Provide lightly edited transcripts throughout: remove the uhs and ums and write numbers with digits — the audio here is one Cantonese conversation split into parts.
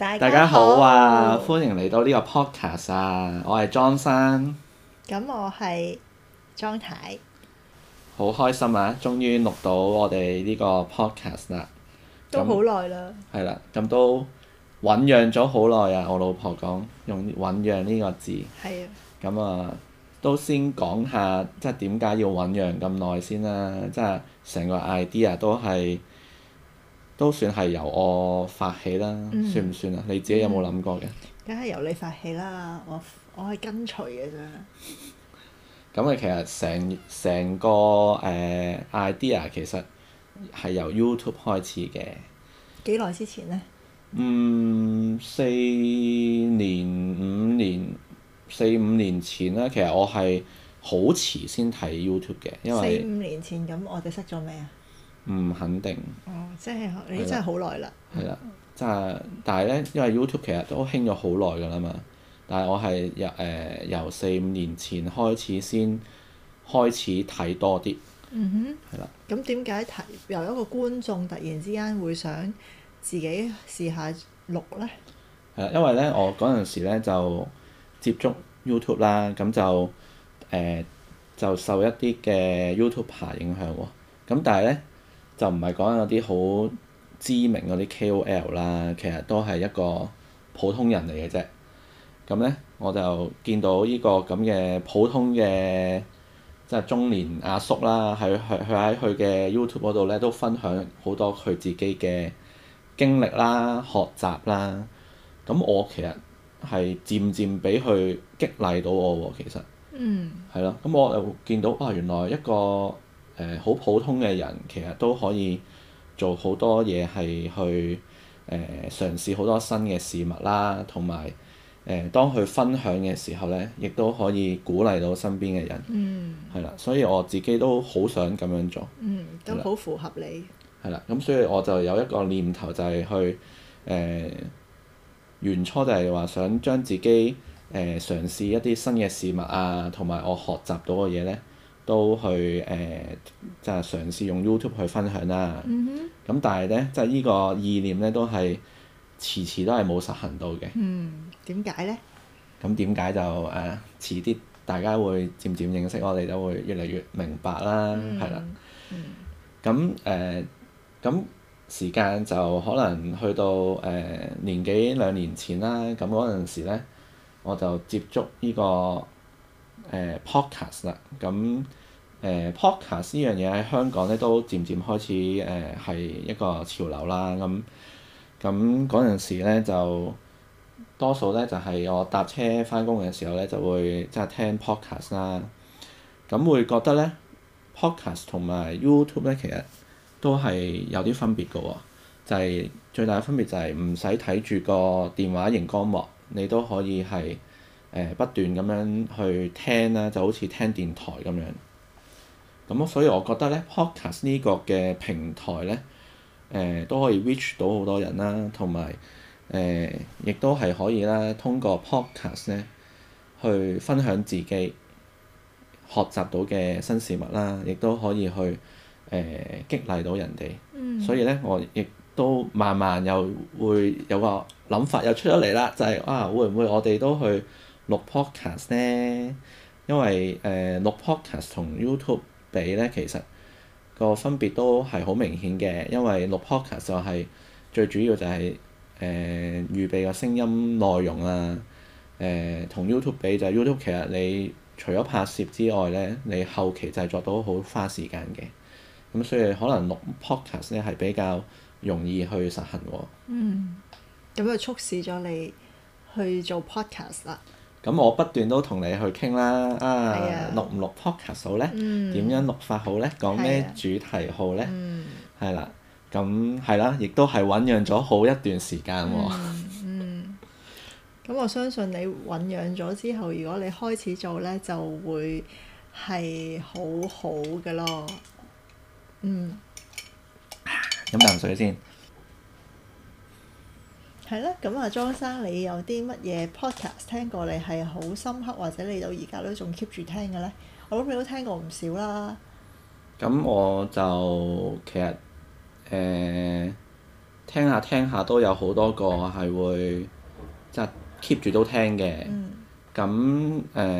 大家好啊！歡迎嚟到呢個 podcast 啊！我係莊生， 咁我係莊太， 好開心啊！終於錄到我哋呢個 podcast 啦， 都好耐啦。 係啦，咁都醖釀咗好耐啊！我老婆講用醖釀呢個字， 係啊。 咁啊，都先講下即係點解要醖釀咁耐先啦。即係成個 idea 都算係由我發起啦，算唔算啊？你自己有冇諗過嘅？ 梗係由你發起啦，我係跟隨嘅啫。 咁啊，其實成個idea 其實係由 YouTube 開始嘅。 幾耐之前呢 4五年前啦。其實我係好遲先睇 YouTube 嘅，因為 4、5年前咁，我哋識咗未啊？ 唔肯定。 哦，即係你真係好耐啦。 係啦，但係咧，因為 YouTube 其實都興咗好耐㗎啦嘛。但係我係由4、5年前開始先開始睇多啲。 嗯哼。係啦。 咁點解由一個觀眾突然之間會想自己試下錄呢？ 係啦，因為咧我嗰陣時咧就接觸 YouTube 啦，咁就受一啲嘅 YouTuber 影響喎。咁但係咧就唔係講有啲好知名嗰啲 KOL 啦，其實都係一個普通人嚟嘅啫。咁咧我就見到呢個咁嘅普通嘅即係中年阿叔啦，佢喺佢嘅 YouTube 嗰度咧都分享好多佢自己嘅經歷啦、學習啦。咁我其實係漸漸俾佢激勵到我喎，其實。係咯，咁我又見到原來一個好普通嘅人，其實都可以做好多嘢，係去嘗試好多新嘅事物啦，同埋當佢分享嘅時候咧，亦都可以鼓勵到身邊嘅人。係啦，所以我自己都好想咁樣做。 都好符合你。 係啦，咁所以我就有一個念頭，就係去原初就係話想將自己嘗試一啲新嘅事物啊，同埋我學習到嘅嘢咧，都去就係嘗試用 YouTube 去分享啦。咁但係咧，即係呢個意念咧，都係遲遲都係冇實行到嘅。 點解咧？ 咁點解就遲啲大家會漸漸認識我哋，就會越嚟越明白啦。係啦。咁時間就可能去到年幾2年前啦。咁嗰陣時咧，我就接觸呢個podcast 啦。咁podcast 呢樣嘢喺香港咧都漸漸開始係一個潮流啦。咁嗰陣時咧就多數咧就係我搭車返工嘅時候咧就會即係聽 podcast 啦。咁會覺得咧 podcast 同埋 YouTube 咧其實都係有啲分別嘅喎。就係最大嘅分別就係唔使睇住個電話螢光幕，你都可以係不斷咁樣去聽啦，就好似聽電台咁樣。咁所以我覺得咧 podcast 呢個嘅平台咧都可以 reach 到好多人啦，同埋亦都係可以啦，通過 podcast 咧去分享自己學習到嘅新事物啦，亦都可以去激勵到人哋。所以咧我亦都慢慢又會有個諗法又出咗嚟啦，就係會唔會我哋都去錄 podcast 咧？因為錄 podcast 同 YouTube 比咧，其實個分別都係好明顯嘅。因為錄 podcast 就係最主要就係預備個聲音內容啊。同 YouTube 比就係 YouTube 其實你除咗拍攝之外咧，你後期製作都好花時間嘅。咁所以可能錄 podcast 咧係比較容易去實行喎。 咁就促使咗你去做 podcast 啦。 咁我不斷都同你去傾啦。錄唔錄 podcast 好咧？點樣錄法好咧？講咩主題好咧？係啦。咁係啦，亦都係醖釀咗好一段時間喎。 咁我相信你醖釀咗之後，如果你開始做咧，就會係好好嘅咯。 飲啖水先。 係啦，咁啊，莊生，你有啲乜嘢 podcast 聽過你係好深刻，或者你到而家都仲 keep 住聽嘅咧？我諗你都聽過唔少啦。 咁我就其實聽下聽下都有好多個係會即係 keep 住都聽嘅。咁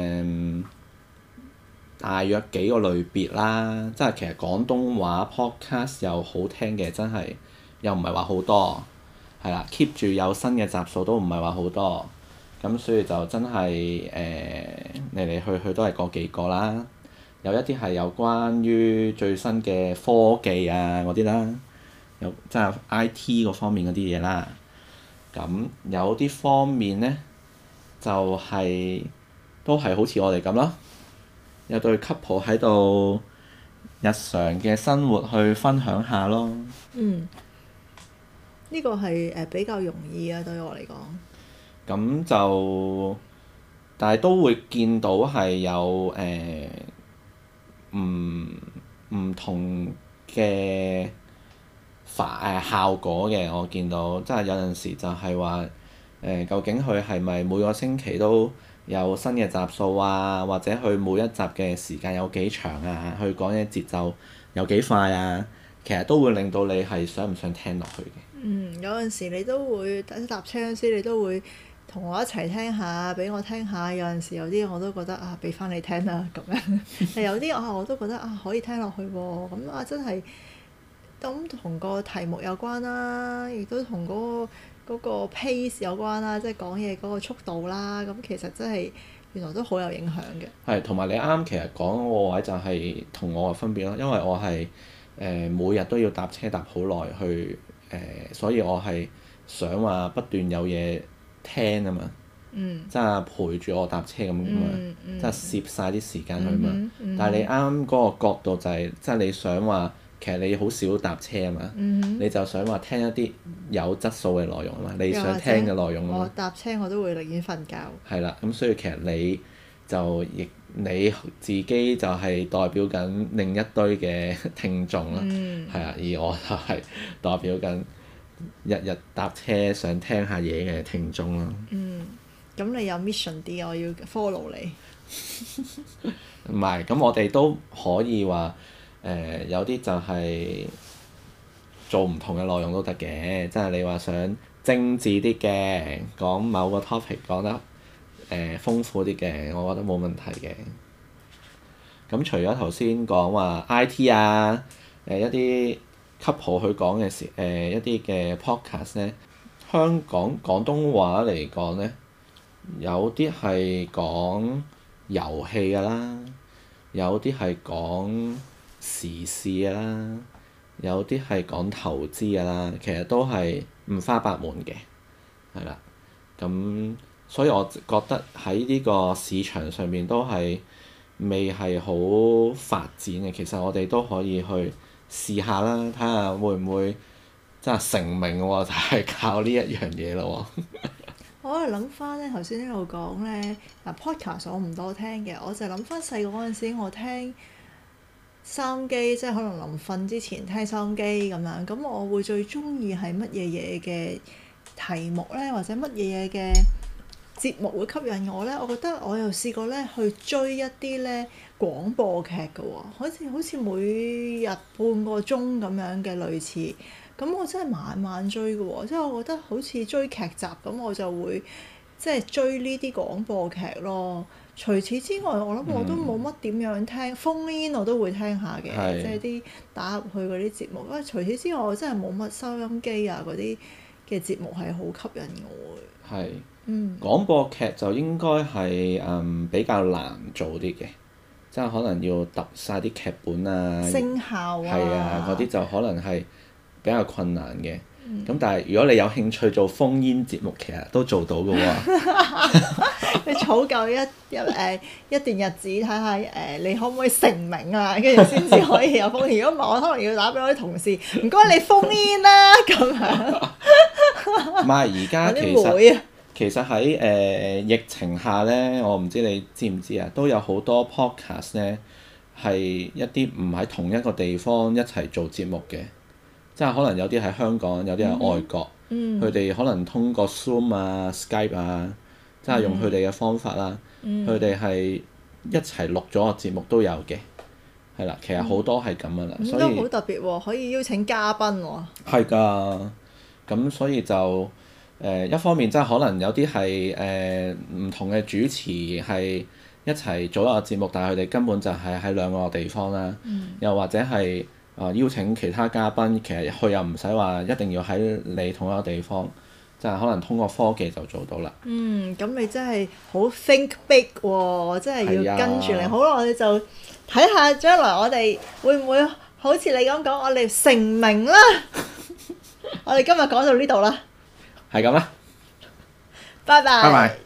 大約幾個類別啦，即係其實廣東話 podcast 又好聽嘅，真係又唔係話好多，係啦，keep 住有新嘅集數都唔係話好多。咁所以就真係嚟嚟去去都係嗰幾個啦。有一啲係有關於最新嘅科技啊嗰啲啦，有即係 IT 嗰方面嗰啲嘢啦。咁有啲方面呢，就係都係好似我哋咁咯，有對 couple 喺度日常嘅生活去分享下咯。 呢個係比較容易啊，對我嚟講。 咁就，但係都會見到係有唔同嘅效果嘅。我見到即係有陣時就係話究竟佢係咪每個星期都有新嘅集數啊，或者佢每一集嘅時間有幾長啊，佢講嘅節奏有幾快啊，其實都會令到你係想唔想聽落去嘅。 有陣時你都會搭車嗰時，你都會同我一齊聽下，俾我聽下。有陣時有啲我都覺得啊，俾翻你聽啦咁樣。但有啲我都覺得啊，可以聽落去喎。咁啊，真係咁同個題目有關啦，亦都同嗰個 pace 有關啦，即係講嘢嗰個速度啦。咁其實真係原來都好有影響嘅。 係，同埋你啱其實講嗰個位就係同我嘅分別咯，因為我係每日都要搭車搭好耐去所以我係想話不斷有嘢聽啊嘛，即係陪住我搭車咁嘛，即係攝晒啲時間去嘛。但係你啱嗰個角度就係，即係你想話其實你好少搭車啊嘛，你就想話聽一啲有質素嘅內容啊嘛，你想聽嘅內容啊嘛。 我搭車我都會寧願瞓覺。係啦，咁所以其實你自己就係代表緊另一堆嘅聽眾啦，係啊，而我就係代表緊日日搭車想聽下嘢嘅聽眾啦。 咁你有 mission 啲，我要 follow 你。 唔係，咁我哋都可以話有啲就係做唔同嘅內容都得嘅，即係你話想精緻啲嘅，講某個 topic 講得豐富啲嘅，我覺得冇問題嘅。咁除咗頭先講話 IT 啊，一啲 couple 去講嘅時，一啲嘅 podcast 咧，香港廣東話嚟講咧，有啲係講遊戲㗎啦，有啲係講時事㗎啦，有啲係講投資㗎啦，其實都係五花八門嘅，係啦，咁。所以我覺得喺呢個市場上面都係未係好發展嘅。其實我哋都可以去試下啦，睇下會唔會真係成名喎？就係靠呢一樣嘢咯喎。 我喺度諗翻咧，頭先呢度講咧，嗱 podcast 我唔多聽嘅，我就諗翻細個嗰陣時，我聽收音機，即係可能臨瞓之前聽收音機咁樣。咁我會最中意係乜嘢嘢嘅題目咧，或者乜嘢嘢嘅節目會吸引我咧？我覺得我又試過咧去追一啲咧廣播劇嘅喎，好似每日半個鐘咁樣嘅類似。咁我真係晚晚追嘅喎，即係我覺得好似追劇集咁，我就會即係追呢啲廣播劇咯。除此之外，我諗我都冇乜點樣聽phone in，我都會聽下嘅，即係啲打入去嗰啲節目。除此之外，我真係冇乜收音機啊嗰啲嘅節目係好吸引我嘅。 係。廣播劇就應該係比較難做啲嘅，即係可能要揼晒啲劇本啊、 聲效啊， 係啊，嗰啲就可能係比較困難嘅。咁但係如果你有興趣做烽煙節目，其實都做到嘅喎。 你儲夠一段日子，睇下你可唔可以成名啊？跟住先至可以有烽煙。如果唔係，我可能要打俾我啲同事，唔該你烽煙啦咁樣。 唔係而家其實喺疫情下咧，我唔知你知唔知啊，都有好多 podcast 咧係一啲唔喺同一個地方一齊做節目嘅，即係可能有啲喺香港，有啲喺外國，佢哋可能通過 Zoom 啊、Skype 啊，即係用佢哋嘅方法啦，佢哋係一齊錄咗個節目都有嘅，係啦，其實好多係咁噶啦，所以都好特別喎，可以邀請嘉賓喎。 係㗎。 咁所以就一方面即係可能有啲係唔同嘅主持係一齊做一個節目，但係佢哋根本就係喺兩個地方啦。又或者係邀請其他嘉賓，其實佢又唔使話一定要喺你同一個地方，就係可能通過科技就做到啦。 咁你真係好 think big 喎，真係要跟住你。好啦，我哋就睇下將來我哋會唔會好似你咁講，我哋成名啦。我哋今日講到呢度啦。 係咁啦。 拜拜。 拜拜。